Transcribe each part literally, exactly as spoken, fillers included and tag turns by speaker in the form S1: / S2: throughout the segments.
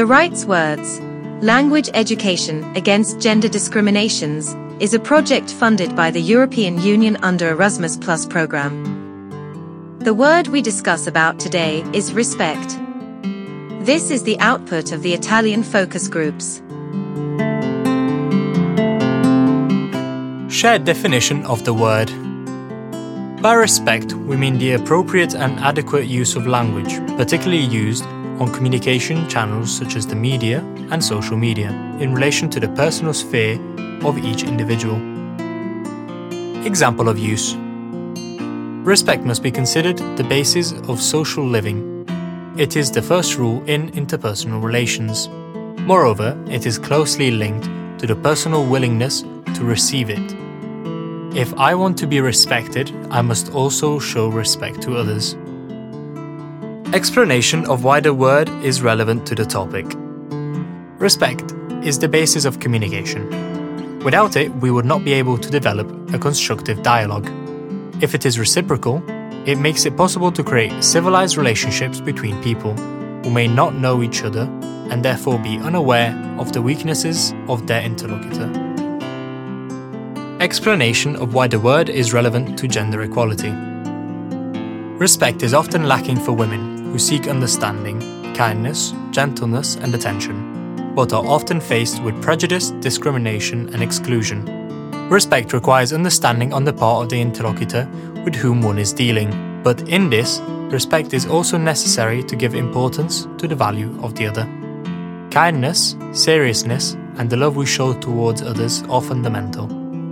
S1: The Rights Words, Language Education Against Gender Discriminations, is a project funded by the European Union under Erasmus Plus program. The word we discuss about today is respect. This is the output of the Italian focus groups.
S2: Shared definition of the word. By respect, we mean the appropriate and adequate use of language, particularly used on communication channels such as the media and social media, in relation to the personal sphere of each individual. Example of use. Respect must be considered the basis of social living. It is the first rule in interpersonal relations. Moreover, it is closely linked to the personal willingness to receive it. If I want to be respected, I must also show respect to others. Explanation of why the word is relevant to the topic. Respect is the basis of communication. Without it, we would not be able to develop a constructive dialogue. If it is reciprocal, it makes it possible to create civilized relationships between people who may not know each other and therefore be unaware of the weaknesses of their interlocutor. Explanation of why the word is relevant to gender equality. Respect is often lacking for women who seek understanding, kindness, gentleness, and attention, but are often faced with prejudice, discrimination, and exclusion. Respect requires understanding on the part of the interlocutor with whom one is dealing, but in this, respect is also necessary to give importance to the value of the other. Kindness, seriousness, and the love we show towards others are fundamental.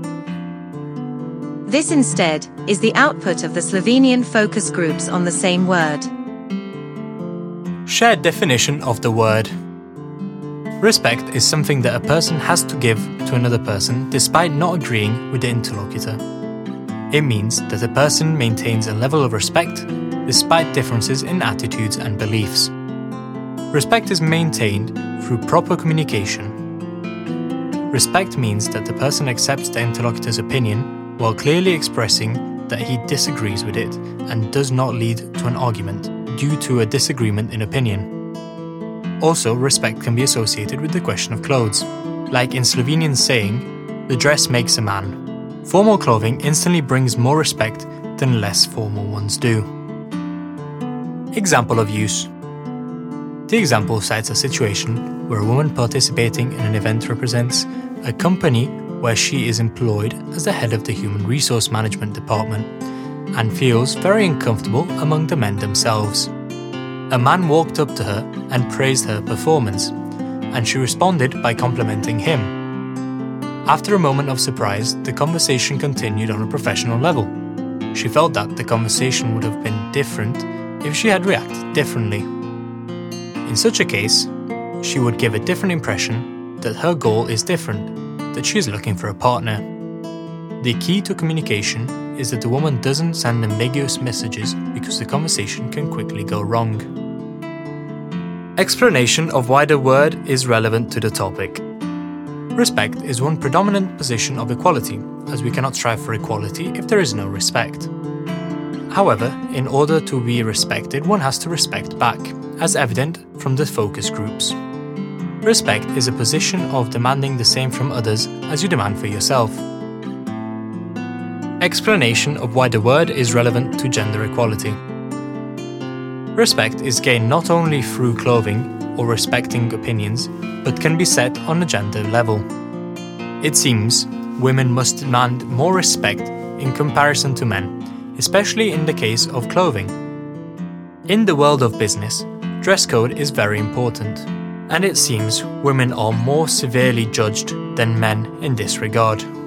S1: This instead is the output of the Slovenian focus groups on the same word.
S2: Shared definition of the word. Respect is something that a person has to give to another person despite not agreeing with the interlocutor. It means that a person maintains a level of respect despite differences in attitudes and beliefs. Respect is maintained through proper communication. Respect means that the person accepts the interlocutor's opinion while clearly expressing that he disagrees with it and does not lead to an argument due to a disagreement in opinion. Also, respect can be associated with the question of clothes. Like in Slovenian saying, the dress makes a man. Formal clothing instantly brings more respect than less formal ones do. Example of use. The example cites a situation where a woman participating in an event represents a company where she is employed as the head of the human resource management department and feels very uncomfortable among the men themselves. A man walked up to her and praised her performance, and she responded by complimenting him. After a moment of surprise, the conversation continued on a professional level. She felt that the conversation would have been different if she had reacted differently. In such a case, she would give a different impression that her goal is different, that she is looking for a partner. The key to communication is that the woman doesn't send ambiguous messages because the conversation can quickly go wrong. Explanation of why the word is relevant to the topic. Respect is one predominant position of equality, as we cannot strive for equality if there is no respect. However, in order to be respected, one has to respect back, as evident from the focus groups. Respect is a position of demanding the same from others as you demand for yourself. Explanation of why the word is relevant to gender equality. Respect is gained not only through clothing or respecting opinions, but can be set on a gender level. It seems women must demand more respect in comparison to men, especially in the case of clothing. In the world of business, dress code is very important, and it seems women are more severely judged than men in this regard.